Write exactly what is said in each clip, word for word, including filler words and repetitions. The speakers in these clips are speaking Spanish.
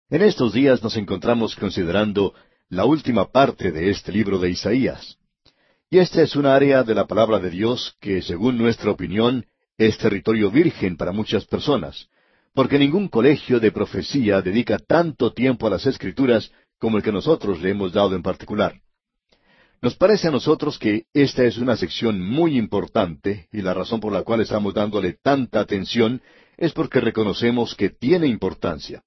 En estos días nos encontramos considerando la última parte de este libro de Isaías. Y esta es un área de la palabra de Dios que, según nuestra opinión, es territorio virgen para muchas personas, porque ningún colegio de profecía dedica tanto tiempo a las Escrituras como el que nosotros le hemos dado en particular. Nos parece a nosotros que esta es una sección muy importante, y la razón por la cual estamos dándole tanta atención es porque reconocemos que tiene importancia.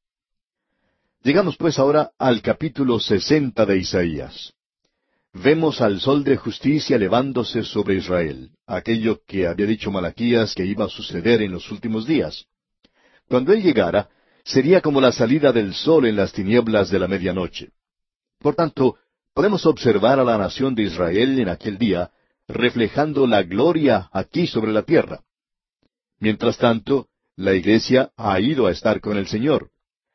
Llegamos pues ahora al capítulo sesenta de Isaías. Vemos al sol de justicia elevándose sobre Israel, aquello que había dicho Malaquías que iba a suceder en los últimos días. Cuando él llegara, sería como la salida del sol en las tinieblas de la medianoche. Por tanto, podemos observar a la nación de Israel en aquel día, reflejando la gloria aquí sobre la tierra. Mientras tanto, la iglesia ha ido a estar con el Señor.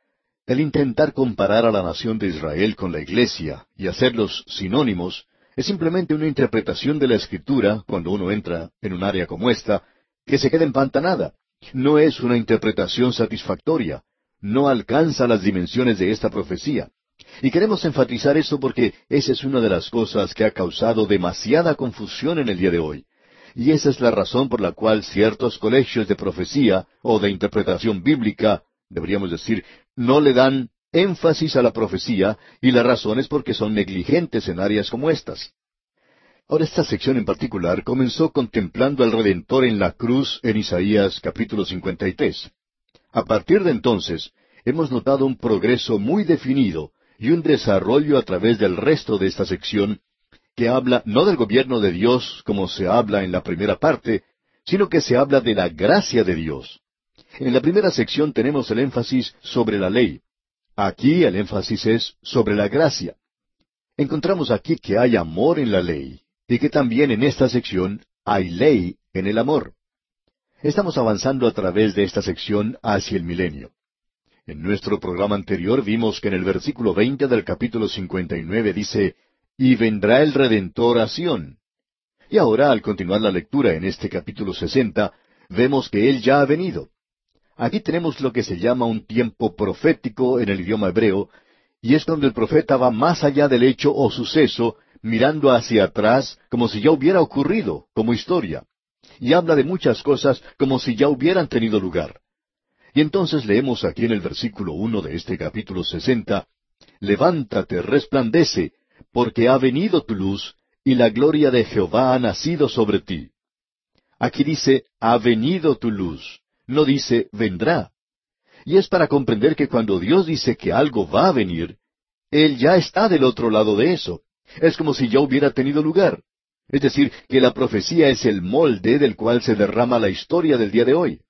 El intentar comparar a la nación de Israel con la iglesia y hacerlos sinónimos es simplemente una interpretación de la Escritura, cuando uno entra en un área como esta, que se queda empantanada. No es una interpretación satisfactoria, no alcanza las dimensiones de esta profecía. Y queremos enfatizar eso porque esa es una de las cosas que ha causado demasiada confusión en el día de hoy. Y esa es la razón por la cual ciertos colegios de profecía o de interpretación bíblica, deberíamos decir, no le dan énfasis a la profecía, y la razón es porque son negligentes en áreas como estas. Ahora, esta sección en particular comenzó contemplando al Redentor en la cruz en Isaías capítulo cincuenta y tres. A partir de entonces, hemos notado un progreso muy definido y un desarrollo a través del resto de esta sección, que habla no del gobierno de Dios como se habla en la primera parte, sino que se habla de la gracia de Dios. En la primera sección tenemos el énfasis sobre la ley. Aquí el énfasis es sobre la gracia. Encontramos aquí que hay amor en la ley, y que también en esta sección hay ley en el amor. Estamos avanzando a través de esta sección hacia el milenio. En nuestro programa anterior vimos que en el versículo veinte del capítulo cincuenta y nueve dice, «Y vendrá el Redentor a Sión». Y ahora, al continuar la lectura en este capítulo sesenta, vemos que Él ya ha venido. Aquí tenemos lo que se llama un tiempo profético en el idioma hebreo, y es donde el profeta va más allá del hecho o suceso, mirando hacia atrás como si ya hubiera ocurrido, como historia, y habla de muchas cosas como si ya hubieran tenido lugar. Y entonces leemos aquí en el versículo uno de este capítulo sesenta, «Levántate, resplandece, porque ha venido tu luz, y la gloria de Jehová ha nacido sobre ti». Aquí dice, «ha venido tu luz». No dice vendrá. Y es para comprender que cuando Dios dice que algo va a venir, Él ya está del otro lado de eso. Es como si ya hubiera tenido lugar. Es decir, que la profecía es el molde del cual se derrama la historia del día de hoy.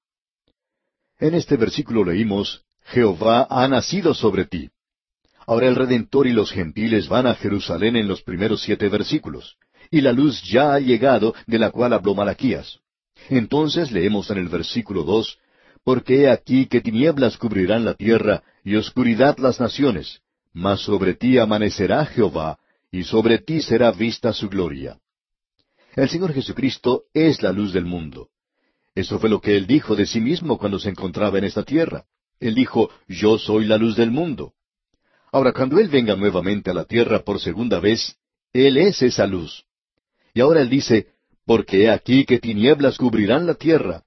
En este versículo leímos, Jehová ha nacido sobre ti. Ahora el Redentor y los gentiles van a Jerusalén en los primeros siete versículos, y la luz ya ha llegado de la cual habló Malaquías. Entonces leemos en el versículo dos, «Porque he aquí que tinieblas cubrirán la tierra, y oscuridad las naciones, mas sobre ti amanecerá Jehová, y sobre ti será vista su gloria». El Señor Jesucristo es la luz del mundo. Eso fue lo que Él dijo de sí mismo cuando se encontraba en esta tierra. Él dijo, «Yo soy la luz del mundo». Ahora, cuando Él venga nuevamente a la tierra por segunda vez, Él es esa luz. Y ahora Él dice, «Porque he aquí que tinieblas cubrirán la tierra».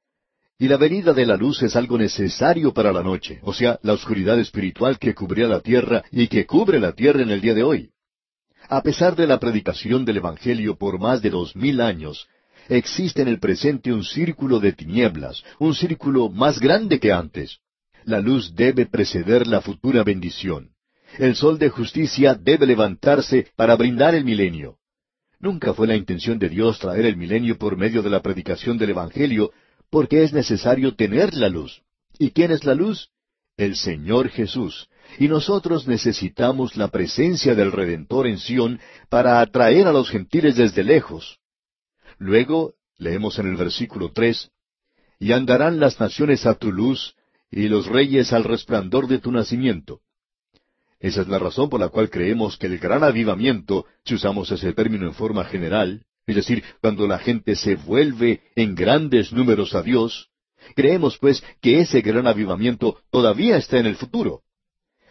Y la venida de la luz es algo necesario para la noche, o sea, la oscuridad espiritual que cubría la tierra y que cubre la tierra en el día de hoy. A pesar de la predicación del Evangelio por más de dos mil años, existe en el presente un círculo de tinieblas, un círculo más grande que antes. La luz debe preceder la futura bendición. El sol de justicia debe levantarse para brindar el milenio. Nunca fue la intención de Dios traer el milenio por medio de la predicación del Evangelio, porque es necesario tener la luz. ¿Y quién es la luz? El Señor Jesús. Y nosotros necesitamos la presencia del Redentor en Sión para atraer a los gentiles desde lejos. Luego, leemos en el versículo tres, «Y andarán las naciones a tu luz, y los reyes al resplandor de tu nacimiento». Esa es la razón por la cual creemos que el gran avivamiento, si usamos ese término en forma general, es decir, cuando la gente se vuelve en grandes números a Dios, creemos pues que ese gran avivamiento todavía está en el futuro.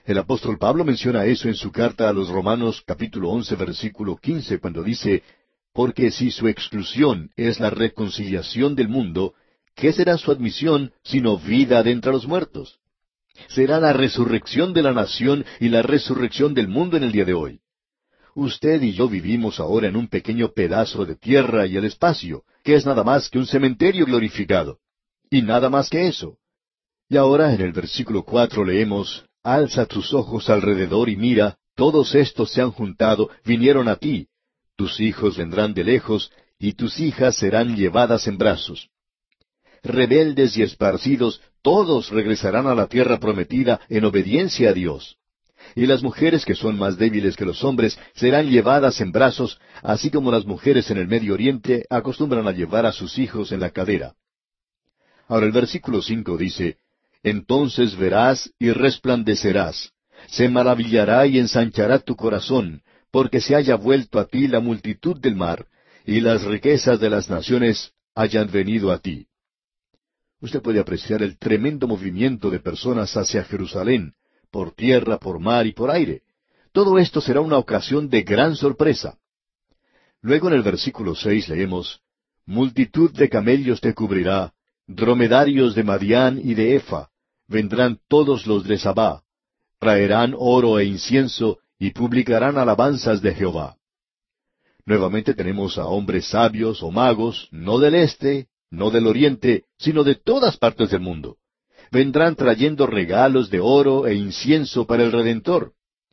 El apóstol Pablo menciona eso en su carta a los Romanos capítulo once versículo quince, cuando dice, «Porque si su exclusión es la reconciliación del mundo, ¿qué será su admisión sino vida de entre los muertos? Será la resurrección de la nación y la resurrección del mundo en el día de hoy. Usted y yo vivimos ahora en un pequeño pedazo de tierra y el espacio, que es nada más que un cementerio glorificado. Y nada más que eso. Y ahora en el versículo cuatro leemos, «Alza tus ojos alrededor y mira, todos estos se han juntado, vinieron a ti. Tus hijos vendrán de lejos, y tus hijas serán llevadas en brazos. Rebeldes y esparcidos, todos regresarán a la tierra prometida en obediencia a Dios. Y las mujeres que son más débiles que los hombres serán llevadas en brazos, así como las mujeres en el Medio Oriente acostumbran a llevar a sus hijos en la cadera». Ahora el versículo cinco dice, «Entonces verás y resplandecerás. Se maravillará y ensanchará tu corazón, porque se haya vuelto a ti la multitud del mar, y las riquezas de las naciones hayan venido a ti». Usted puede apreciar el tremendo movimiento de personas hacia Jerusalén, por tierra, por mar y por aire. Todo esto será una ocasión de gran sorpresa. Luego en el versículo seis leemos, «Multitud de camellos te cubrirá, dromedarios de Madián y de Efa, vendrán todos los de Sabá, traerán oro e incienso, y publicarán alabanzas de Jehová». Nuevamente tenemos a hombres sabios o magos, no del este, no del oriente, sino de todas partes del mundo. Vendrán trayendo regalos de oro e incienso para el Redentor.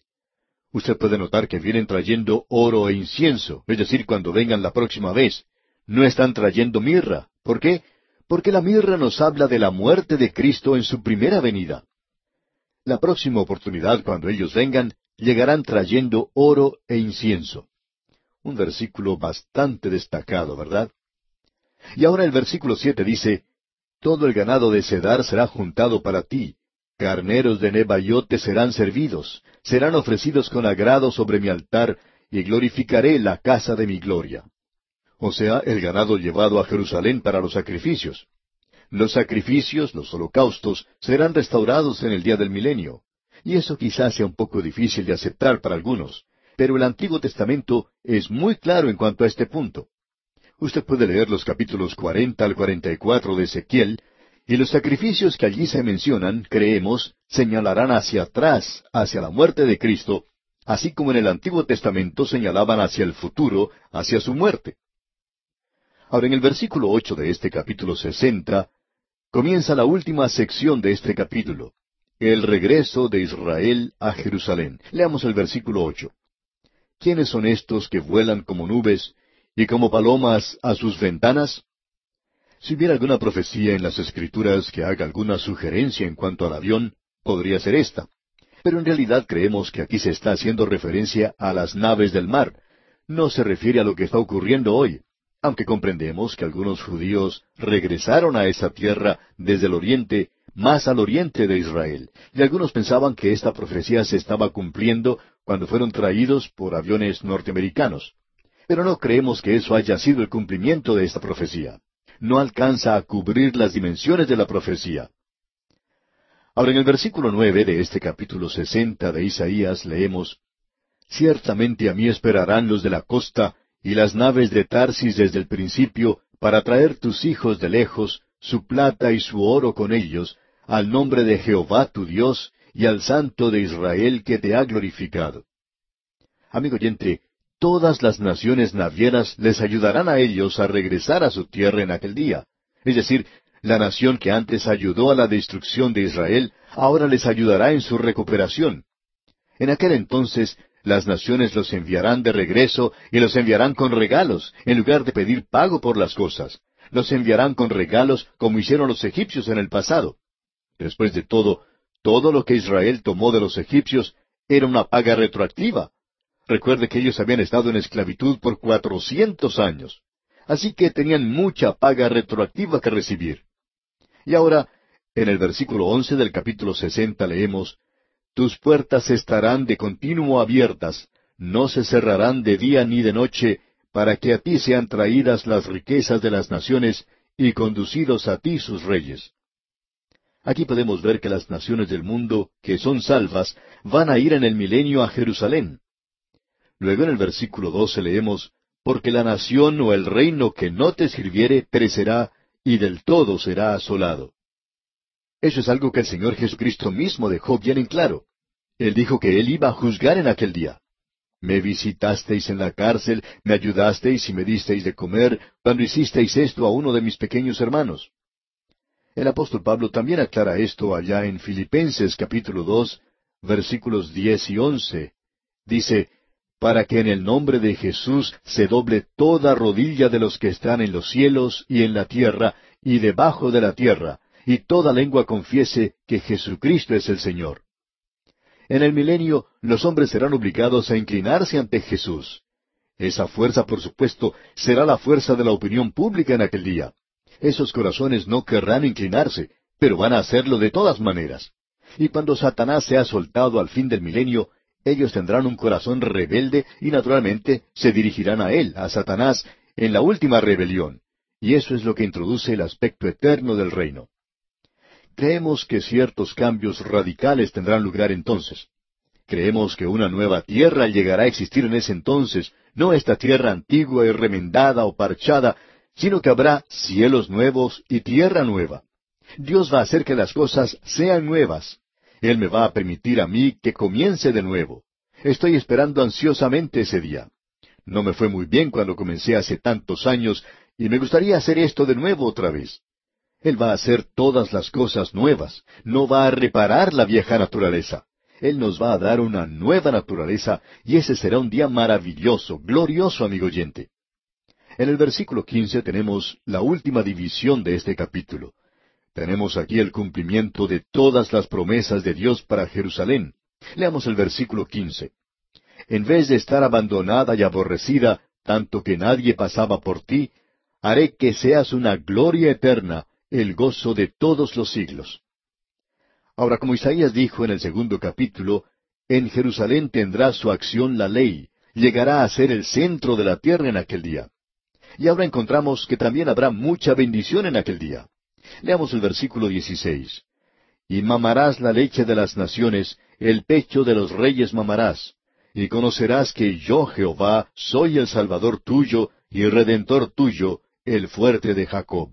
Usted puede notar que vienen trayendo oro e incienso, es decir, cuando vengan la próxima vez. No están trayendo mirra. ¿Por qué? Porque la mirra nos habla de la muerte de Cristo en su primera venida. La próxima oportunidad, cuando ellos vengan, llegarán trayendo oro e incienso. Un versículo bastante destacado, ¿verdad? Y ahora el versículo siete dice, «Todo el ganado de Cedar será juntado para ti, carneros de Nebaiot te serán servidos, serán ofrecidos con agrado sobre mi altar, y glorificaré la casa de mi gloria». O sea, el ganado llevado a Jerusalén para los sacrificios. Los sacrificios, los holocaustos, serán restaurados en el día del milenio. Y eso quizás sea un poco difícil de aceptar para algunos, pero el Antiguo Testamento es muy claro en cuanto a este punto. Usted puede leer los capítulos cuarenta al cuarenta y cuatro de Ezequiel, y los sacrificios que allí se mencionan, creemos, señalarán hacia atrás, hacia la muerte de Cristo, así como en el Antiguo Testamento señalaban hacia el futuro, hacia su muerte. Ahora, en el versículo ocho de este capítulo sesenta, comienza la última sección de este capítulo, el regreso de Israel a Jerusalén. Leamos el versículo ocho. «¿Quiénes son estos que vuelan como nubes y como palomas a sus ventanas?» Si hubiera alguna profecía en las Escrituras que haga alguna sugerencia en cuanto al avión, podría ser esta. Pero en realidad creemos que aquí se está haciendo referencia a las naves del mar. No se refiere a lo que está ocurriendo hoy, aunque comprendemos que algunos judíos regresaron a esa tierra desde el oriente, más al oriente de Israel, y algunos pensaban que esta profecía se estaba cumpliendo cuando fueron traídos por aviones norteamericanos. Pero no creemos que eso haya sido el cumplimiento de esta profecía. No alcanza a cubrir las dimensiones de la profecía. Ahora en el versículo nueve de este capítulo sesenta de Isaías leemos, «Ciertamente a mí esperarán los de la costa, y las naves de Tarsis desde el principio, para traer tus hijos de lejos, su plata y su oro con ellos, al nombre de Jehová tu Dios, y al Santo de Israel que te ha glorificado». Amigo oyente, todas las naciones navieras les ayudarán a ellos a regresar a su tierra en aquel día. Es decir, la nación que antes ayudó a la destrucción de Israel, ahora les ayudará en su recuperación. En aquel entonces, las naciones los enviarán de regreso y los enviarán con regalos, en lugar de pedir pago por las cosas. Los enviarán con regalos como hicieron los egipcios en el pasado. Después de todo, todo lo que Israel tomó de los egipcios era una paga retroactiva. Recuerde que ellos habían estado en esclavitud por cuatrocientos años. Así que tenían mucha paga retroactiva que recibir. Y ahora, en el versículo once del capítulo sesenta leemos, «Tus puertas estarán de continuo abiertas, no se cerrarán de día ni de noche, para que a ti sean traídas las riquezas de las naciones, y conducidos a ti sus reyes». Aquí podemos ver que las naciones del mundo que son salvas van a ir en el milenio a Jerusalén. Luego en el versículo doce leemos, porque la nación o el reino que no te sirviere perecerá, y del todo será asolado. Eso es algo que el Señor Jesucristo mismo dejó bien en claro. Él dijo que Él iba a juzgar en aquel día. Me visitasteis en la cárcel, me ayudasteis y me disteis de comer, cuando hicisteis esto a uno de mis pequeños hermanos. El apóstol Pablo también aclara esto allá en Filipenses capítulo dos, versículos diez y once. Dice, para que en el nombre de Jesús se doble toda rodilla de los que están en los cielos y en la tierra y debajo de la tierra, y toda lengua confiese que Jesucristo es el Señor. En el milenio los hombres serán obligados a inclinarse ante Jesús. Esa fuerza, por supuesto, será la fuerza de la opinión pública en aquel día. Esos corazones no querrán inclinarse, pero van a hacerlo de todas maneras. Y cuando Satanás sea soltado al fin del milenio, ellos tendrán un corazón rebelde y naturalmente se dirigirán a él, a Satanás, en la última rebelión. Y eso es lo que introduce el aspecto eterno del reino. Creemos que ciertos cambios radicales tendrán lugar entonces. Creemos que una nueva tierra llegará a existir en ese entonces, no esta tierra antigua y remendada o parchada, sino que habrá cielos nuevos y tierra nueva. Dios va a hacer que las cosas sean nuevas. Él me va a permitir a mí que comience de nuevo. Estoy esperando ansiosamente ese día. No me fue muy bien cuando comencé hace tantos años, y me gustaría hacer esto de nuevo otra vez. Él va a hacer todas las cosas nuevas, no va a reparar la vieja naturaleza. Él nos va a dar una nueva naturaleza, y ese será un día maravilloso, glorioso, amigo oyente. En el versículo quince tenemos la última división de este capítulo. Tenemos aquí el cumplimiento de todas las promesas de Dios para Jerusalén. Leamos el versículo quince. En vez de estar abandonada y aborrecida, tanto que nadie pasaba por ti, haré que seas una gloria eterna, el gozo de todos los siglos. Ahora, como Isaías dijo en el segundo capítulo, en Jerusalén tendrá su acción la ley, llegará a ser el centro de la tierra en aquel día. Y ahora encontramos que también habrá mucha bendición en aquel día. Leamos el versículo dieciséis. Y mamarás la leche de las naciones, el pecho de los reyes mamarás, y conocerás que yo, Jehová, soy el Salvador tuyo y Redentor tuyo, el fuerte de Jacob.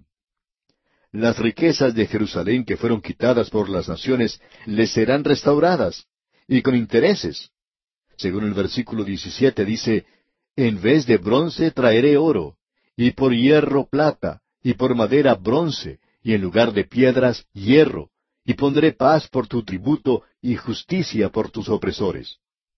Las riquezas de Jerusalén que fueron quitadas por las naciones les serán restauradas, y con intereses. Según el versículo diecisiete dice, en vez de bronce traeré oro, y por hierro plata, y por madera bronce, y en lugar de piedras hierro, y pondré paz por tu tributo y justicia por tus opresores.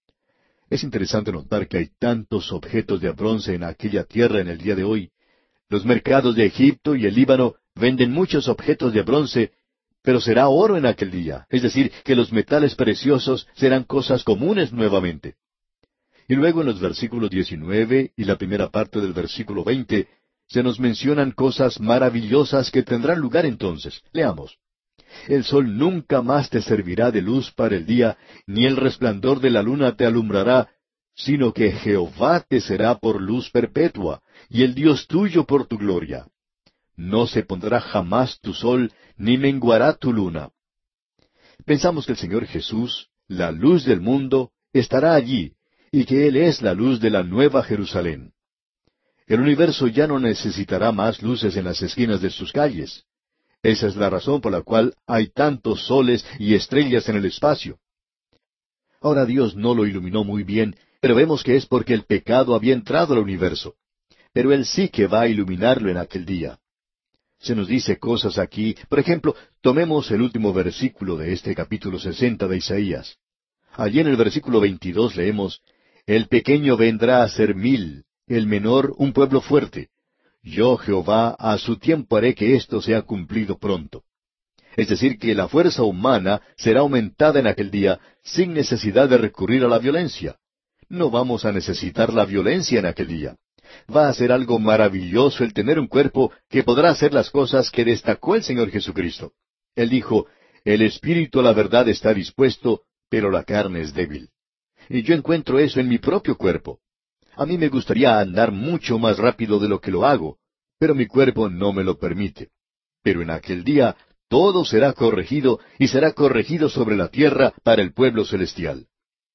Es interesante notar que hay tantos objetos de bronce en aquella tierra en el día de hoy. Los mercados de Egipto y el Líbano venden muchos objetos de bronce, pero será oro en aquel día, es decir, que los metales preciosos serán cosas comunes nuevamente. Y luego en los versículos diecinueve y la primera parte del versículo veinte, se nos mencionan cosas maravillosas que tendrán lugar entonces. Leamos. El sol nunca más te servirá de luz para el día, ni el resplandor de la luna te alumbrará, sino que Jehová te será por luz perpetua, y el Dios tuyo por tu gloria. No se pondrá jamás tu sol, ni menguará tu luna. Pensamos que el Señor Jesús, la luz del mundo, estará allí, y que Él es la luz de la nueva Jerusalén. El universo ya no necesitará más luces en las esquinas de sus calles. Esa es la razón por la cual hay tantos soles y estrellas en el espacio. Ahora Dios no lo iluminó muy bien, pero vemos que es porque el pecado había entrado al universo. Pero Él sí que va a iluminarlo en aquel día. Se nos dice cosas aquí, por ejemplo, tomemos el último versículo de este capítulo sesenta de Isaías. Allí en el versículo veintidós leemos, el pequeño vendrá a ser mil, el menor un pueblo fuerte. Yo, Jehová, a su tiempo haré que esto sea cumplido pronto. Es decir, que la fuerza humana será aumentada en aquel día sin necesidad de recurrir a la violencia. No vamos a necesitar la violencia en aquel día. Va a ser algo maravilloso el tener un cuerpo que podrá hacer las cosas que destacó el Señor Jesucristo. Él dijo, el espíritu a la verdad está dispuesto, pero la carne es débil. Y yo encuentro eso en mi propio cuerpo. A mí me gustaría andar mucho más rápido de lo que lo hago, pero mi cuerpo no me lo permite. Pero en aquel día todo será corregido y será corregido sobre la tierra para el pueblo celestial.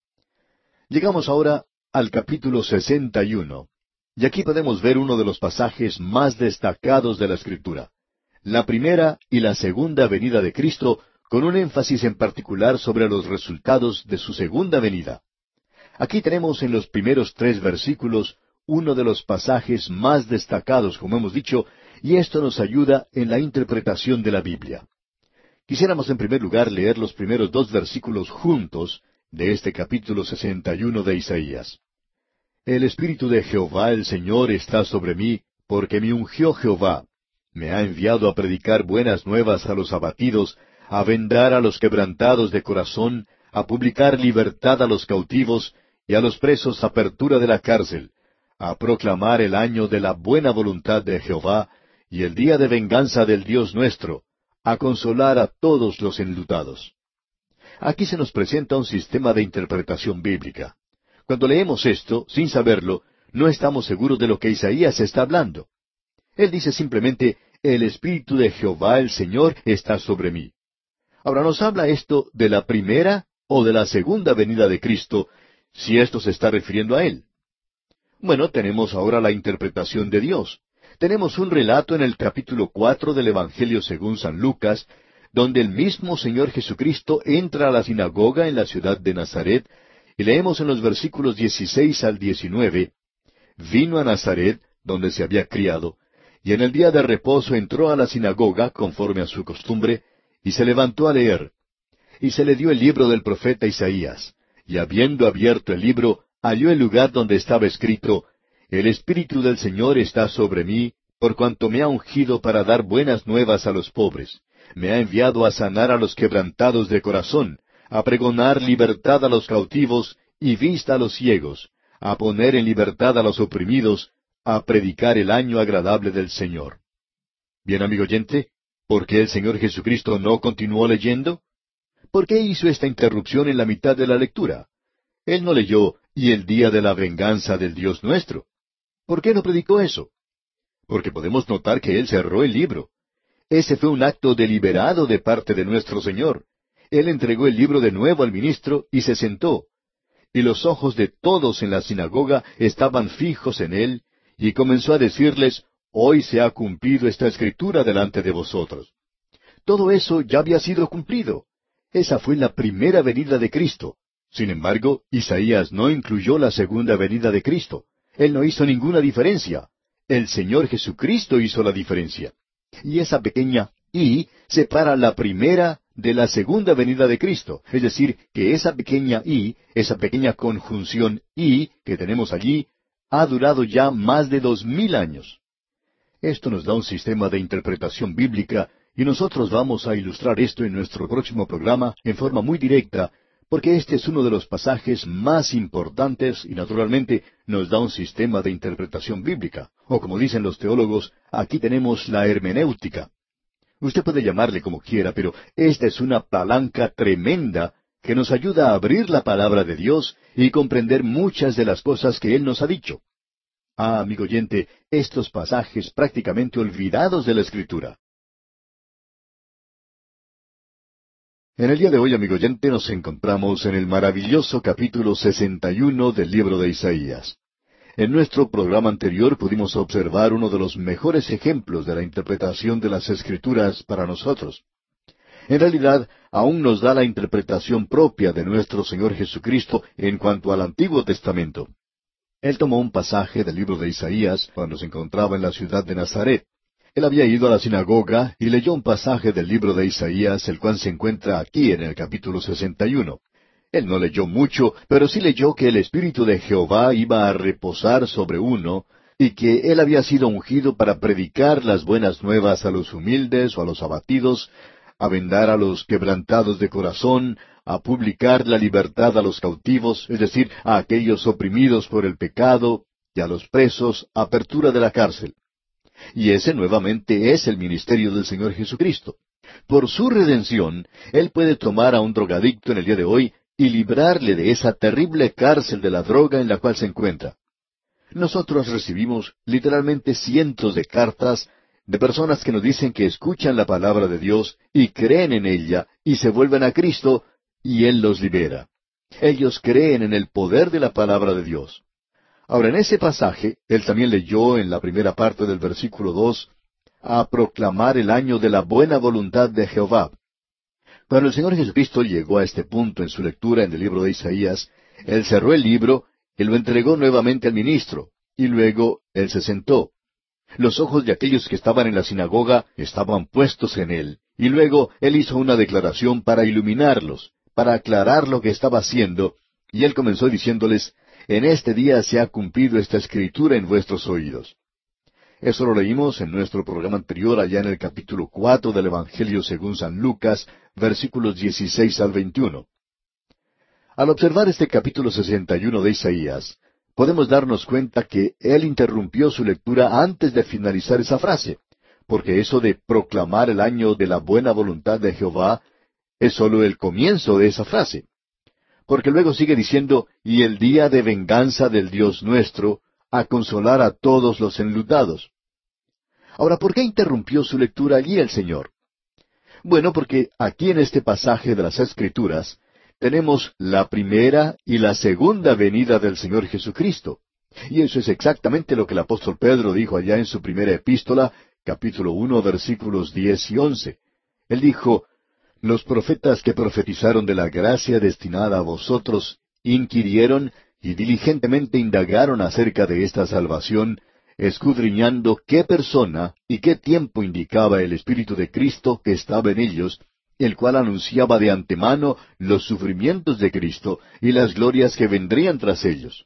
Llegamos ahora al capítulo sesenta y uno, y aquí podemos ver uno de los pasajes más destacados de la Escritura, la primera y la segunda venida de Cristo, con un énfasis en particular sobre los resultados de su segunda venida. Aquí tenemos en los primeros tres versículos uno de los pasajes más destacados, como hemos dicho, y esto nos ayuda en la interpretación de la Biblia. Quisiéramos en primer lugar leer los primeros dos versículos juntos de este capítulo sesenta y uno de Isaías. El Espíritu de Jehová el Señor está sobre mí, porque me ungió Jehová. Me ha enviado a predicar buenas nuevas a los abatidos, a vendar a los quebrantados de corazón, a publicar libertad a los cautivos, y a los presos apertura de la cárcel, a proclamar el año de la buena voluntad de Jehová, y el día de venganza del Dios nuestro, a consolar a todos los enlutados. Aquí se nos presenta un sistema de interpretación bíblica. Cuando leemos esto, sin saberlo, no estamos seguros de lo que Isaías está hablando. Él dice simplemente, el Espíritu de Jehová el Señor está sobre mí. Ahora, ¿nos habla esto de la primera o de la segunda venida de Cristo, si esto se está refiriendo a Él? Bueno, tenemos ahora la interpretación de Dios. Tenemos un relato en el capítulo cuatro del Evangelio según San Lucas, donde el mismo Señor Jesucristo entra a la sinagoga en la ciudad de Nazaret, y leemos en los versículos dieciséis al diecinueve, vino a Nazaret, donde se había criado, y en el día de reposo entró a la sinagoga, conforme a su costumbre, y se levantó a leer. Y se le dio el libro del profeta Isaías, y habiendo abierto el libro, halló el lugar donde estaba escrito, El Espíritu del Señor está sobre mí, por cuanto me ha ungido para dar buenas nuevas a los pobres. Me ha enviado a sanar a los quebrantados de corazón, a pregonar libertad a los cautivos y vista a los ciegos, a poner en libertad a los oprimidos, a predicar el año agradable del Señor. Bien, amigo oyente, ¿por qué el Señor Jesucristo no continuó leyendo? ¿Por qué hizo esta interrupción en la mitad de la lectura? Él no leyó, y el día de la venganza del Dios nuestro. ¿Por qué no predicó eso? Porque podemos notar que Él cerró el libro. Ese fue un acto deliberado de parte de nuestro Señor. Él entregó el libro de nuevo al ministro y se sentó. Y los ojos de todos en la sinagoga estaban fijos en Él, y comenzó a decirles, Hoy se ha cumplido esta escritura delante de vosotros. Todo eso ya había sido cumplido. Esa fue la primera venida de Cristo. Sin embargo, Isaías no incluyó la segunda venida de Cristo. Él no hizo ninguna diferencia. El Señor Jesucristo hizo la diferencia. Y esa pequeña I separa la primera de la segunda venida de Cristo. Es decir, que esa pequeña I, esa pequeña conjunción I que tenemos allí, ha durado ya más de dos mil años. Esto nos da un sistema de interpretación bíblica, y nosotros vamos a ilustrar esto en nuestro próximo programa en forma muy directa, porque este es uno de los pasajes más importantes y naturalmente nos da un sistema de interpretación bíblica. O como dicen los teólogos, aquí tenemos la hermenéutica. Usted puede llamarle como quiera, pero esta es una palanca tremenda que nos ayuda a abrir la palabra de Dios y comprender muchas de las cosas que Él nos ha dicho. Ah, amigo oyente, estos pasajes prácticamente olvidados de la Escritura. En el día de hoy, amigo oyente, nos encontramos en el maravilloso capítulo sesenta y uno del libro de Isaías. En nuestro programa anterior pudimos observar uno de los mejores ejemplos de la interpretación de las Escrituras para nosotros. En realidad, aún nos da la interpretación propia de nuestro Señor Jesucristo en cuanto al Antiguo Testamento. Él tomó un pasaje del libro de Isaías cuando se encontraba en la ciudad de Nazaret. Él había ido a la sinagoga y leyó un pasaje del libro de Isaías, el cual se encuentra aquí en el capítulo sesenta y uno. Él no leyó mucho, pero sí leyó que el Espíritu de Jehová iba a reposar sobre uno, y que él había sido ungido para predicar las buenas nuevas a los humildes o a los abatidos, a vendar a los quebrantados de corazón, a publicar la libertad a los cautivos, es decir, a aquellos oprimidos por el pecado, y a los presos, apertura de la cárcel. Y ese nuevamente es el ministerio del Señor Jesucristo. Por su redención, Él puede tomar a un drogadicto en el día de hoy y librarle de esa terrible cárcel de la droga en la cual se encuentra. Nosotros recibimos literalmente cientos de cartas de personas que nos dicen que escuchan la palabra de Dios y creen en ella y se vuelven a Cristo y Él los libera. Ellos creen en el poder de la palabra de Dios. Ahora, en ese pasaje, él también leyó en la primera parte del versículo dos, a proclamar el año de la buena voluntad de Jehová. Cuando el Señor Jesucristo llegó a este punto en su lectura en el libro de Isaías, Él cerró el libro y lo entregó nuevamente al ministro, y luego Él se sentó. Los ojos de aquellos que estaban en la sinagoga estaban puestos en Él, y luego Él hizo una declaración para iluminarlos, para aclarar lo que estaba haciendo, y Él comenzó diciéndoles, en este día se ha cumplido esta escritura en vuestros oídos. Eso lo leímos en nuestro programa anterior, allá en el capítulo cuatro del Evangelio según San Lucas, versículos dieciséis al veintiuno. Al observar este capítulo sesenta y uno de Isaías, podemos darnos cuenta que él interrumpió su lectura antes de finalizar esa frase, porque eso de proclamar el año de la buena voluntad de Jehová es sólo el comienzo de esa frase. Porque luego sigue diciendo, y el día de venganza del Dios nuestro, a consolar a todos los enlutados. Ahora, ¿por qué interrumpió su lectura allí el Señor? Bueno, porque aquí en este pasaje de las Escrituras tenemos la primera y la segunda venida del Señor Jesucristo. Y eso es exactamente lo que el apóstol Pedro dijo allá en su primera epístola, capítulo uno, versículos diez y once. Él dijo, los profetas que profetizaron de la gracia destinada a vosotros inquirieron y diligentemente indagaron acerca de esta salvación, escudriñando qué persona y qué tiempo indicaba el Espíritu de Cristo que estaba en ellos, el cual anunciaba de antemano los sufrimientos de Cristo y las glorias que vendrían tras ellos.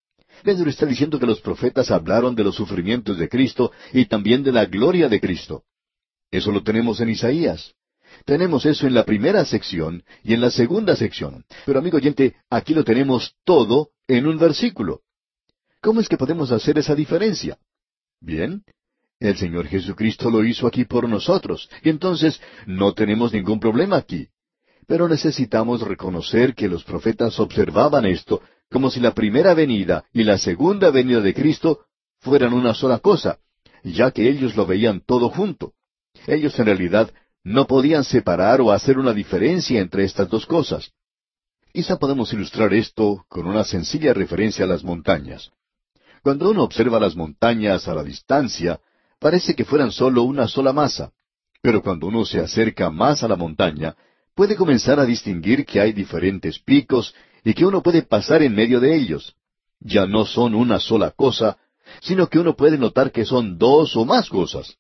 Pedro está diciendo que los profetas hablaron de los sufrimientos de Cristo y también de la gloria de Cristo. Eso lo tenemos en Isaías. Tenemos eso en la primera sección y en la segunda sección. Pero amigo oyente, aquí lo tenemos todo en un versículo. ¿Cómo es que podemos hacer esa diferencia? Bien, el Señor Jesucristo lo hizo aquí por nosotros, y entonces no tenemos ningún problema aquí. Pero necesitamos reconocer que los profetas observaban esto como si la primera venida y la segunda venida de Cristo fueran una sola cosa, ya que ellos lo veían todo junto. Ellos en realidad no podían separar o hacer una diferencia entre estas dos cosas. Quizá podemos ilustrar esto con una sencilla referencia a las montañas. Cuando uno observa las montañas a la distancia, parece que fueran solo una sola masa. Pero cuando uno se acerca más a la montaña, puede comenzar a distinguir que hay diferentes picos y que uno puede pasar en medio de ellos. Ya no son una sola cosa, sino que uno puede notar que son dos o más cosas.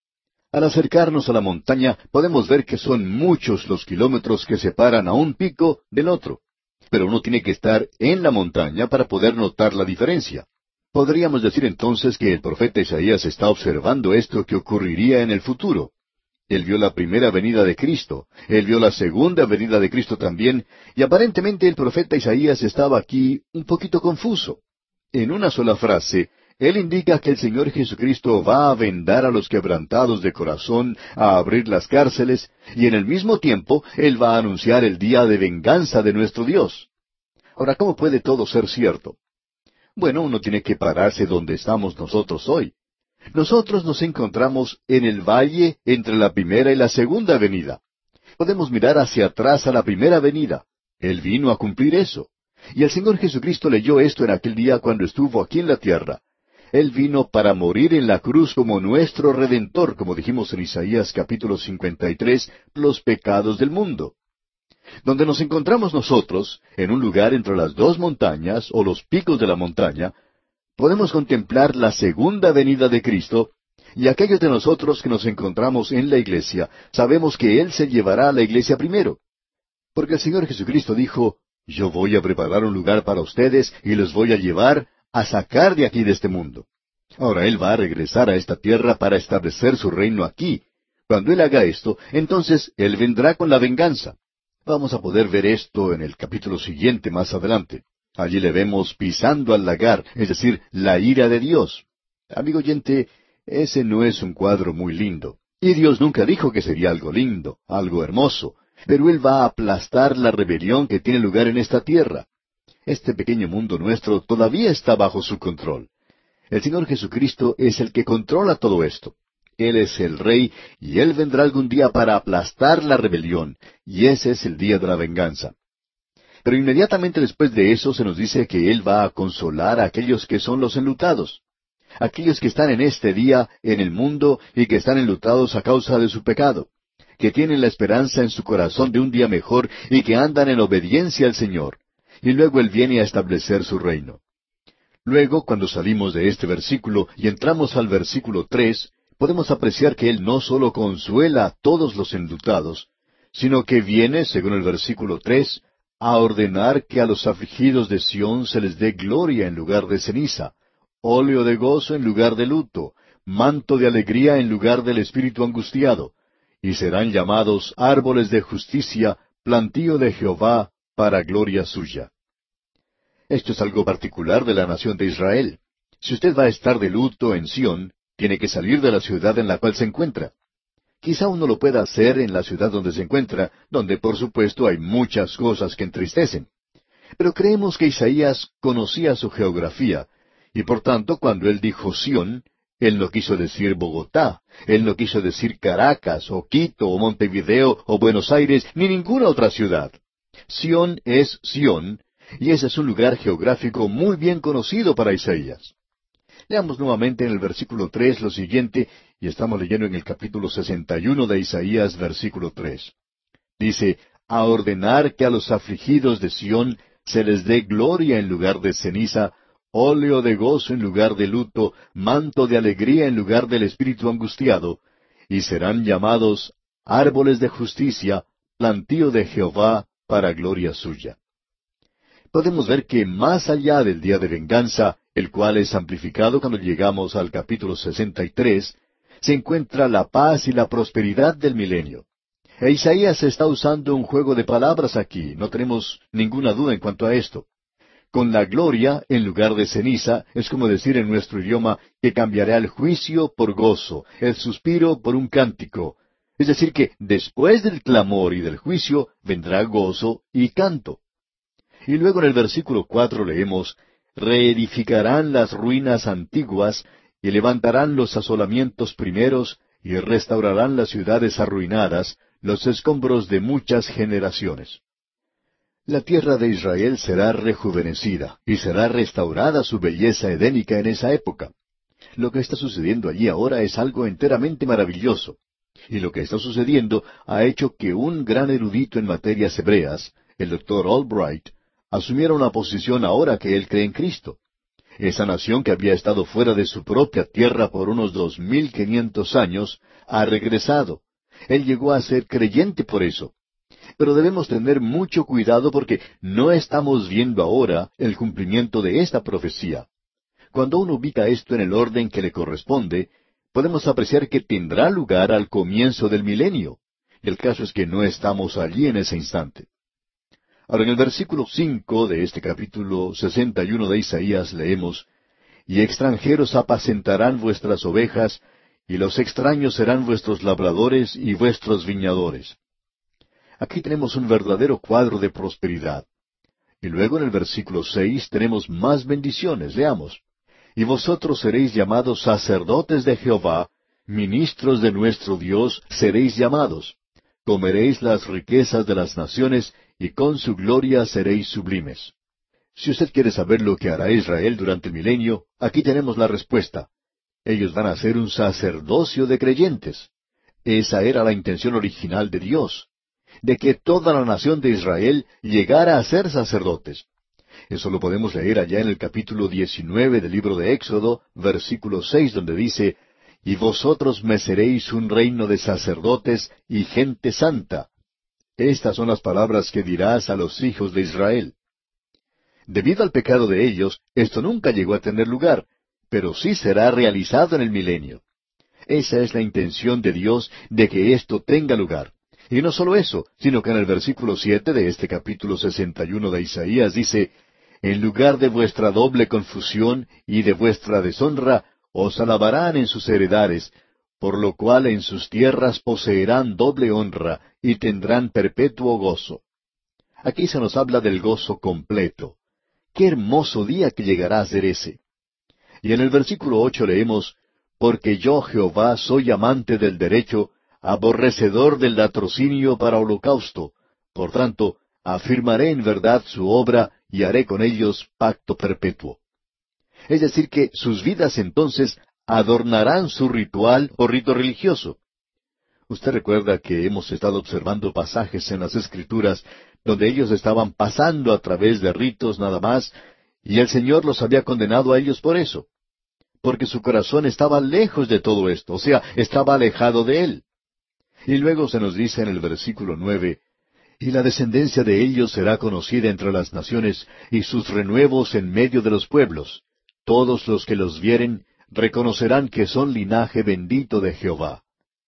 Al acercarnos a la montaña, podemos ver que son muchos los kilómetros que separan a un pico del otro. Pero uno tiene que estar en la montaña para poder notar la diferencia. Podríamos decir entonces que el profeta Isaías está observando esto que ocurriría en el futuro. Él vio la primera venida de Cristo, él vio la segunda venida de Cristo también, y aparentemente el profeta Isaías estaba aquí un poquito confuso. En una sola frase, él indica que el Señor Jesucristo va a vendar a los quebrantados de corazón, a abrir las cárceles, y en el mismo tiempo Él va a anunciar el día de venganza de nuestro Dios. Ahora, ¿cómo puede todo ser cierto? Bueno, uno tiene que pararse donde estamos nosotros hoy. Nosotros nos encontramos en el valle entre la primera y la segunda venida. Podemos mirar hacia atrás a la primera venida. Él vino a cumplir eso. Y el Señor Jesucristo leyó esto en aquel día cuando estuvo aquí en la tierra. Él vino para morir en la cruz como nuestro Redentor, como dijimos en Isaías capítulo cincuenta y tres, los pecados del mundo. Donde nos encontramos nosotros, en un lugar entre las dos montañas, o los picos de la montaña, podemos contemplar la segunda venida de Cristo, y aquellos de nosotros que nos encontramos en la iglesia, sabemos que Él se llevará a la iglesia primero. Porque el Señor Jesucristo dijo, yo voy a preparar un lugar para ustedes y los voy a llevar a sacar de aquí de este mundo. Ahora Él va a regresar a esta tierra para establecer su reino aquí. Cuando Él haga esto, entonces Él vendrá con la venganza. Vamos a poder ver esto en el capítulo siguiente más adelante. Allí le vemos pisando al lagar, es decir, la ira de Dios. Amigo oyente, ese no es un cuadro muy lindo. Y Dios nunca dijo que sería algo lindo, algo hermoso. Pero Él va a aplastar la rebelión que tiene lugar en esta tierra. Este pequeño mundo nuestro todavía está bajo su control. El Señor Jesucristo es el que controla todo esto. Él es el Rey, y Él vendrá algún día para aplastar la rebelión, y ese es el día de la venganza. Pero inmediatamente después de eso se nos dice que Él va a consolar a aquellos que son los enlutados, aquellos que están en este día en el mundo y que están enlutados a causa de su pecado, que tienen la esperanza en su corazón de un día mejor y que andan en obediencia al Señor. Y luego Él viene a establecer su reino. Luego, cuando salimos de este versículo y entramos al versículo tres, podemos apreciar que Él no solo consuela a todos los enlutados, sino que viene, según el versículo tres, a ordenar que a los afligidos de Sión se les dé gloria en lugar de ceniza, óleo de gozo en lugar de luto, manto de alegría en lugar del espíritu angustiado, y serán llamados árboles de justicia, plantío de Jehová, para gloria suya. Esto es algo particular de la nación de Israel. Si usted va a estar de luto en Sión, tiene que salir de la ciudad en la cual se encuentra. Quizá uno lo pueda hacer en la ciudad donde se encuentra, donde por supuesto hay muchas cosas que entristecen. Pero creemos que Isaías conocía su geografía, y por tanto cuando él dijo Sión, él no quiso decir Bogotá, él no quiso decir Caracas, o Quito, o Montevideo, o Buenos Aires, ni ninguna otra ciudad. Sión es Sión, y ese es un lugar geográfico muy bien conocido para Isaías. Leamos nuevamente en el versículo tres lo siguiente, y estamos leyendo en el capítulo sesenta y uno de Isaías, versículo tres. Dice, a ordenar que a los afligidos de Sión se les dé gloria en lugar de ceniza, óleo de gozo en lugar de luto, manto de alegría en lugar del espíritu angustiado, y serán llamados árboles de justicia, plantío de Jehová, para gloria suya. Podemos ver que más allá del día de venganza, el cual es amplificado cuando llegamos al capítulo sesenta y tres, se encuentra la paz y la prosperidad del milenio. E Isaías está usando un juego de palabras aquí, no tenemos ninguna duda en cuanto a esto. Con la gloria, en lugar de ceniza, es como decir en nuestro idioma que cambiará el juicio por gozo, el suspiro por un cántico. Es decir, que después del clamor y del juicio vendrá gozo y canto. Y luego en el versículo cuatro leemos, reedificarán las ruinas antiguas, y levantarán los asolamientos primeros, y restaurarán las ciudades arruinadas, los escombros de muchas generaciones. La tierra de Israel será rejuvenecida, y será restaurada su belleza edénica en esa época. Lo que está sucediendo allí ahora es algo enteramente maravilloso. Y lo que está sucediendo ha hecho que un gran erudito en materias hebreas, el doctor Albright, asumiera una posición ahora que él cree en Cristo. Esa nación que había estado fuera de su propia tierra por unos dos mil quinientos años, ha regresado. Él llegó a ser creyente por eso. Pero debemos tener mucho cuidado porque no estamos viendo ahora el cumplimiento de esta profecía. Cuando uno ubica esto en el orden que le corresponde, podemos apreciar que tendrá lugar al comienzo del milenio. El caso es que no estamos allí en ese instante. Ahora, en el versículo cinco de este capítulo sesenta y uno de Isaías leemos, y extranjeros apacentarán vuestras ovejas, y los extraños serán vuestros labradores y vuestros viñadores. Aquí tenemos un verdadero cuadro de prosperidad. Y luego en el versículo seis tenemos más bendiciones. Leamos. Y vosotros seréis llamados sacerdotes de Jehová, ministros de nuestro Dios seréis llamados. Comeréis las riquezas de las naciones, y con su gloria seréis sublimes. Si usted quiere saber lo que hará Israel durante el milenio, aquí tenemos la respuesta. Ellos van a ser un sacerdocio de creyentes. Esa era la intención original de Dios, de que toda la nación de Israel llegara a ser sacerdotes. Eso lo podemos leer allá en el capítulo diecinueve del libro de Éxodo, versículo seis, donde dice, y vosotros me seréis un reino de sacerdotes y gente santa. Estas son las palabras que dirás a los hijos de Israel. Debido al pecado de ellos, esto nunca llegó a tener lugar, pero sí será realizado en el milenio. Esa es la intención de Dios de que esto tenga lugar. Y no solo eso, sino que en el versículo siete de este capítulo sesenta y uno de Isaías dice, en lugar de vuestra doble confusión y de vuestra deshonra, os alabarán en sus heredades, por lo cual en sus tierras poseerán doble honra y tendrán perpetuo gozo. Aquí se nos habla del gozo completo. ¡Qué hermoso día que llegará a ser ese! Y en el versículo ocho leemos, porque yo, Jehová, soy amante del derecho, aborrecedor del latrocinio para holocausto. Por tanto, afirmaré en verdad su obra y haré con ellos pacto perpetuo. Es decir, que sus vidas entonces adornarán su ritual o rito religioso. Usted recuerda que hemos estado observando pasajes en las Escrituras donde ellos estaban pasando a través de ritos nada más, y el Señor los había condenado a ellos por eso, porque su corazón estaba lejos de todo esto, o sea, estaba alejado de Él. Y luego se nos dice en el versículo nueve, y la descendencia de ellos será conocida entre las naciones, y sus renuevos en medio de los pueblos. Todos los que los vieren reconocerán que son linaje bendito de Jehová.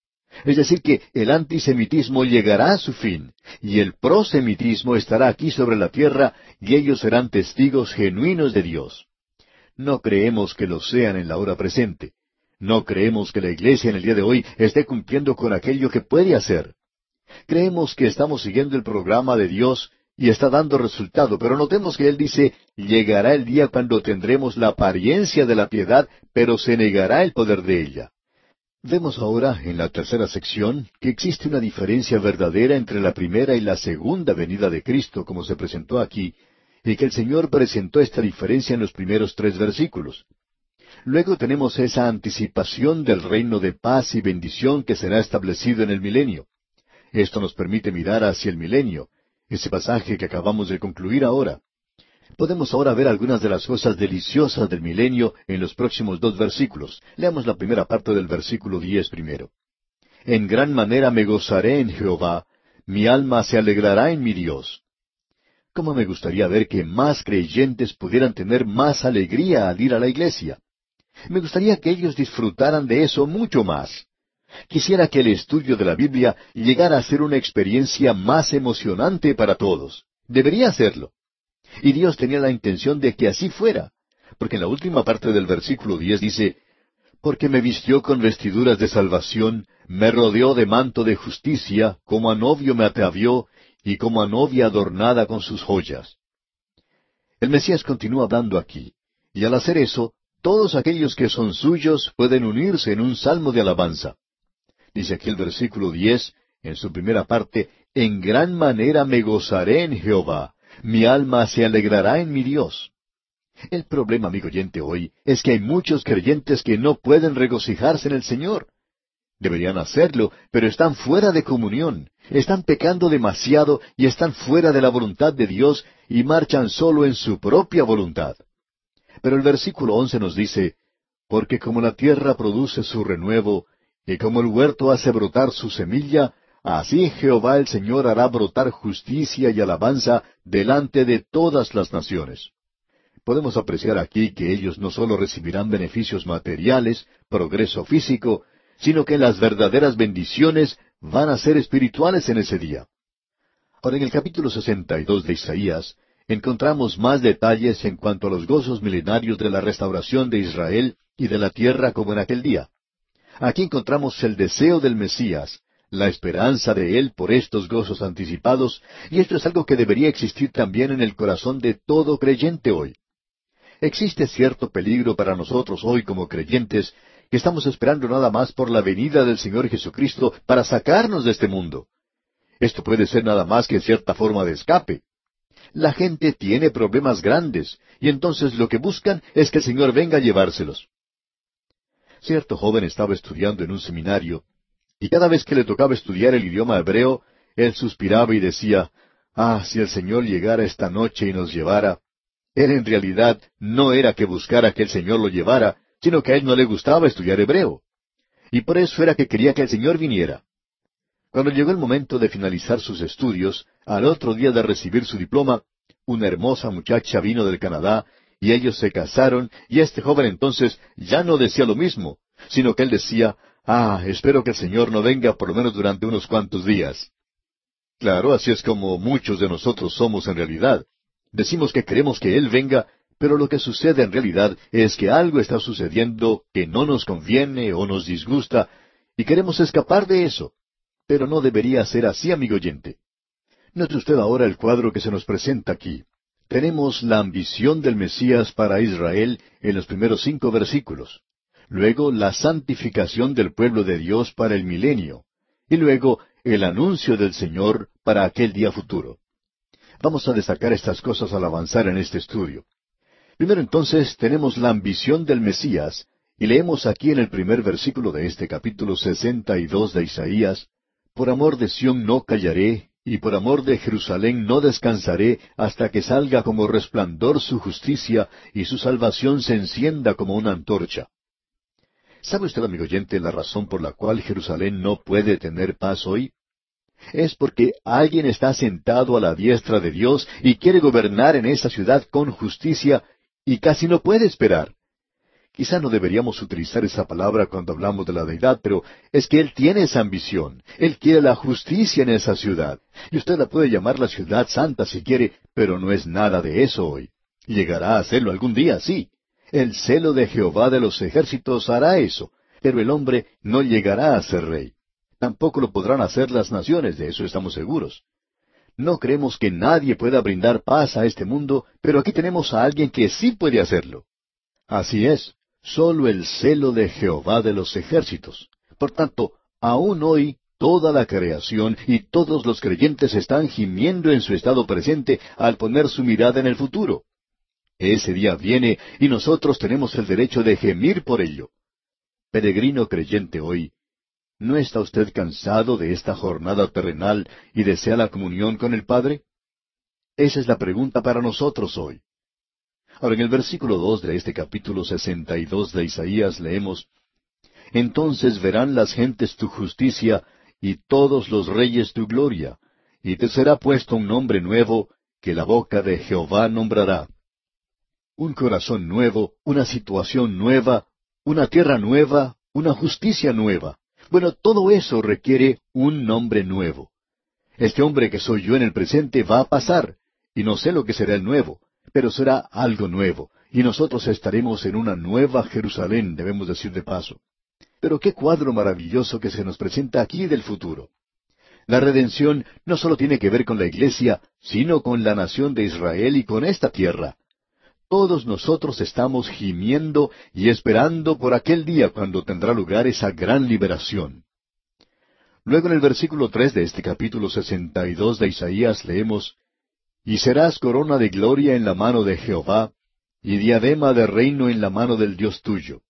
Es decir, que el antisemitismo llegará a su fin, y el prosemitismo estará aquí sobre la tierra, y ellos serán testigos genuinos de Dios. No creemos que lo sean en la hora presente. No creemos que la Iglesia en el día de hoy esté cumpliendo con aquello que puede hacer. Creemos que estamos siguiendo el programa de Dios y está dando resultado, pero notemos que Él dice, llegará el día cuando tendremos la apariencia de la piedad, pero se negará el poder de ella. Vemos ahora, en la tercera sección, que existe una diferencia verdadera entre la primera y la segunda venida de Cristo, como se presentó aquí, y que el Señor presentó esta diferencia en los primeros tres versículos. Luego tenemos esa anticipación del reino de paz y bendición que será establecido en el milenio. Esto nos permite mirar hacia el milenio, ese pasaje que acabamos de concluir ahora. Podemos ahora ver algunas de las cosas deliciosas del milenio en los próximos dos versículos. Leamos la primera parte del versículo diez primero. En gran manera me gozaré en Jehová, mi alma se alegrará en mi Dios. ¿Cómo me gustaría ver que más creyentes pudieran tener más alegría al ir a la iglesia? Me gustaría que ellos disfrutaran de eso mucho más. Quisiera que el estudio de la Biblia llegara a ser una experiencia más emocionante para todos. Debería serlo. Y Dios tenía la intención de que así fuera, porque en la última parte del versículo diez dice, porque me vistió con vestiduras de salvación, me rodeó de manto de justicia, como a novio me atavió, y como a novia adornada con sus joyas. El Mesías continúa hablando aquí, y al hacer eso, todos aquellos que son suyos pueden unirse en un salmo de alabanza. Dice aquí el versículo diez, en su primera parte, en gran manera me gozaré en Jehová, mi alma se alegrará en mi Dios. El problema, amigo oyente, hoy es que hay muchos creyentes que no pueden regocijarse en el Señor. Deberían hacerlo, pero están fuera de comunión, están pecando demasiado y están fuera de la voluntad de Dios y marchan solo en su propia voluntad. Pero el versículo once nos dice, porque como la tierra produce su renuevo, y como el huerto hace brotar su semilla, así Jehová el Señor hará brotar justicia y alabanza delante de todas las naciones. Podemos apreciar aquí que ellos no solo recibirán beneficios materiales, progreso físico, sino que las verdaderas bendiciones van a ser espirituales en ese día. Ahora, en el capítulo sesenta y dos de Isaías, encontramos más detalles en cuanto a los gozos milenarios de la restauración de Israel y de la tierra como en aquel día. Aquí encontramos el deseo del Mesías, la esperanza de Él por estos gozos anticipados, y esto es algo que debería existir también en el corazón de todo creyente hoy. Existe cierto peligro para nosotros hoy como creyentes, que estamos esperando nada más por la venida del Señor Jesucristo para sacarnos de este mundo. Esto puede ser nada más que cierta forma de escape. La gente tiene problemas grandes, y entonces lo que buscan es que el Señor venga a llevárselos. Cierto joven estaba estudiando en un seminario, y cada vez que le tocaba estudiar el idioma hebreo, él suspiraba y decía, «Ah, si el Señor llegara esta noche y nos llevara». Él en realidad no era que buscara que el Señor lo llevara, sino que a él no le gustaba estudiar hebreo. Y por eso era que quería que el Señor viniera. Cuando llegó el momento de finalizar sus estudios, al otro día de recibir su diploma, una hermosa muchacha vino del Canadá, y ellos se casaron, y este joven entonces ya no decía lo mismo, sino que él decía, «Ah, espero que el Señor no venga por lo menos durante unos cuantos días». Claro, así es como muchos de nosotros somos en realidad. Decimos que queremos que Él venga, pero lo que sucede en realidad es que algo está sucediendo que no nos conviene o nos disgusta, y queremos escapar de eso. Pero no debería ser así, amigo oyente. Note usted ahora el cuadro que se nos presenta aquí. Tenemos la ambición del Mesías para Israel en los primeros cinco versículos. luego la santificación del pueblo de Dios para el milenio, y luego el anuncio del Señor para aquel día futuro. Vamos a destacar estas cosas al avanzar en este estudio. Primero entonces tenemos la ambición del Mesías, y leemos aquí en el primer versículo de este capítulo sesenta y dos de Isaías: Por amor de Sión no callaré, y por amor de Jerusalén no descansaré, hasta que salga como resplandor su justicia, y su salvación se encienda como una antorcha. ¿Sabe usted, amigo oyente, la razón por la cual Jerusalén no puede tener paz hoy? Es porque alguien está sentado a la diestra de Dios y quiere gobernar en esa ciudad con justicia, y casi no puede esperar. Quizá no deberíamos utilizar esa palabra cuando hablamos de la deidad, pero es que Él tiene esa ambición. Él quiere la justicia en esa ciudad. Y usted la puede llamar la ciudad santa si quiere, pero no es nada de eso hoy. Llegará a hacerlo algún día, sí. El celo de Jehová de los ejércitos hará eso, pero el hombre no llegará a ser rey. Tampoco lo podrán hacer las naciones, de eso estamos seguros. No creemos que nadie pueda brindar paz a este mundo, pero aquí tenemos a alguien que sí puede hacerlo. Así es. Solo el celo de Jehová de los ejércitos. Por tanto, aún hoy toda la creación y todos los creyentes están gimiendo en su estado presente al poner su mirada en el futuro. Ese día viene y nosotros tenemos el derecho de gemir por ello. Peregrino creyente hoy, ¿no está usted cansado de esta jornada terrenal y desea la comunión con el Padre? Esa es la pregunta para nosotros hoy. Ahora, en el versículo dos de este capítulo sesenta y dos de Isaías leemos: Entonces verán las gentes tu justicia, y todos los reyes tu gloria, y te será puesto un nombre nuevo, que la boca de Jehová nombrará. Un corazón nuevo, una situación nueva, una tierra nueva, una justicia nueva. Bueno, todo eso requiere un nombre nuevo. Este hombre que soy yo en el presente va a pasar, y no sé lo que será el nuevo, pero será algo nuevo, y nosotros estaremos en una nueva Jerusalén, debemos decir de paso. Pero qué cuadro maravilloso que se nos presenta aquí del futuro. La redención no solo tiene que ver con la iglesia, sino con la nación de Israel y con esta tierra. Todos nosotros estamos gimiendo y esperando por aquel día cuando tendrá lugar esa gran liberación. Luego en el versículo tres de este capítulo sesenta y dos de Isaías leemos: Y serás corona de gloria en la mano de Jehová, y diadema de reino en la mano del Dios tuyo.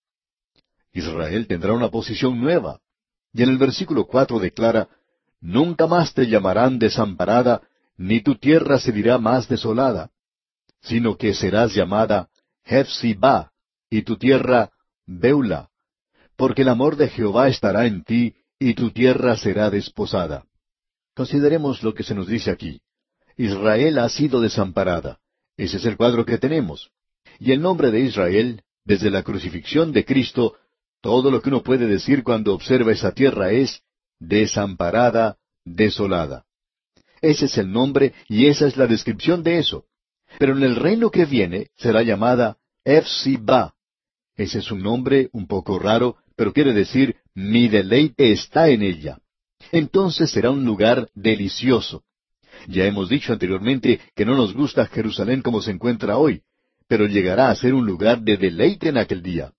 Israel tendrá una posición nueva. Y en el versículo cuatro declara: Nunca más te llamarán desamparada, ni tu tierra se dirá más desolada, sino que serás llamada Hefzibá, y tu tierra Beula, porque el amor de Jehová estará en ti, y tu tierra será desposada. Consideremos lo que se nos dice aquí. Israel ha sido desamparada. Ese es el cuadro que tenemos. Y el nombre de Israel, desde la crucifixión de Cristo, todo lo que uno puede decir cuando observa esa tierra es desamparada, desolada. Ese es el nombre y esa es la descripción de eso. Pero en el reino que viene será llamada Hefzibá. Ese es un nombre un poco raro, pero quiere decir mi deleite está en ella. Entonces será un lugar delicioso. Ya hemos dicho anteriormente que no nos gusta Jerusalén como se encuentra hoy, pero llegará a ser un lugar de deleite en aquel día.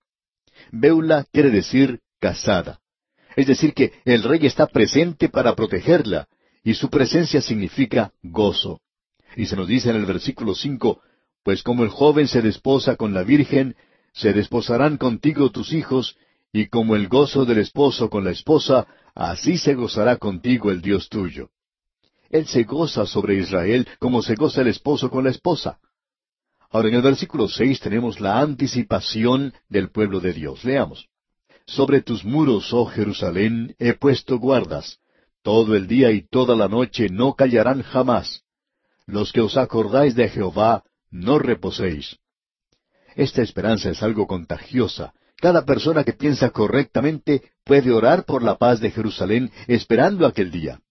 Beula quiere decir casada. Es decir que el rey está presente para protegerla, y su presencia significa gozo. Y se nos dice en el versículo cinco: Pues como el joven se desposa con la virgen, se desposarán contigo tus hijos, y como el gozo del esposo con la esposa, así se gozará contigo el Dios tuyo. Él se goza sobre Israel como se goza el esposo con la esposa. Ahora en el versículo seis tenemos la anticipación del pueblo de Dios. Leamos: Sobre tus muros, oh Jerusalén, he puesto guardas. Todo el día y toda la noche no callarán jamás. Los que os acordáis de Jehová, no reposéis. Esta esperanza es algo contagiosa. Cada persona que piensa correctamente puede orar por la paz de Jerusalén esperando aquel día.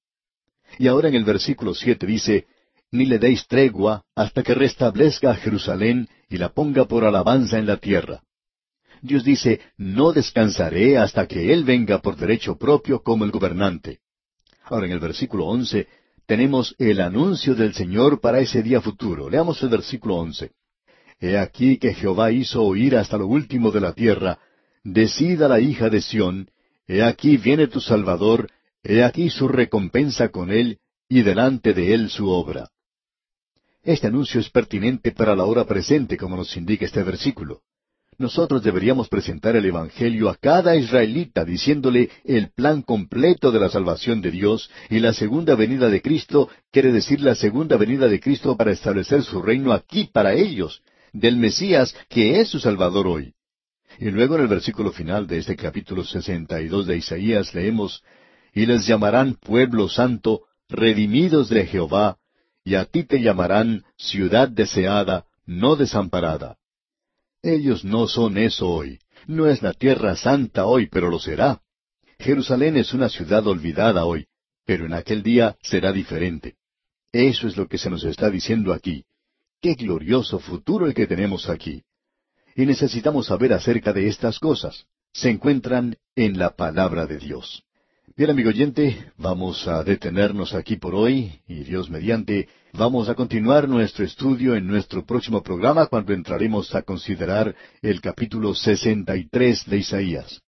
Y ahora en el versículo siete dice: Ni le deis tregua hasta que restablezca a Jerusalén y la ponga por alabanza en la tierra. Dios dice: No descansaré hasta que Él venga por derecho propio como el gobernante. Ahora en el versículo once tenemos el anuncio del Señor para ese día futuro. Leamos el versículo once. He aquí que Jehová hizo oír hasta lo último de la tierra, Decida la hija de Sión, he aquí viene tu Salvador, he aquí su recompensa con él, y delante de él su obra. Este anuncio es pertinente para la hora presente, como nos indica este versículo. Nosotros deberíamos presentar el Evangelio a cada israelita diciéndole el plan completo de la salvación de Dios, y la segunda venida de Cristo quiere decir la segunda venida de Cristo para establecer su reino aquí para ellos, del Mesías que es su Salvador hoy. Y luego en el versículo final de este capítulo sesenta y dos de Isaías leemos, y les llamarán pueblo santo, redimidos de Jehová, y a ti te llamarán ciudad deseada, no desamparada. Ellos no son eso hoy. No es la tierra santa hoy, pero lo será. Jerusalén es una ciudad olvidada hoy, pero en aquel día será diferente. Eso es lo que se nos está diciendo aquí. Qué glorioso futuro el que tenemos aquí. Y necesitamos saber acerca de estas cosas. Se encuentran en la palabra de Dios. Bien, amigo oyente, vamos a detenernos aquí por hoy, y Dios mediante, vamos a continuar nuestro estudio en nuestro próximo programa cuando entraremos a considerar el capítulo sesenta y tres de Isaías.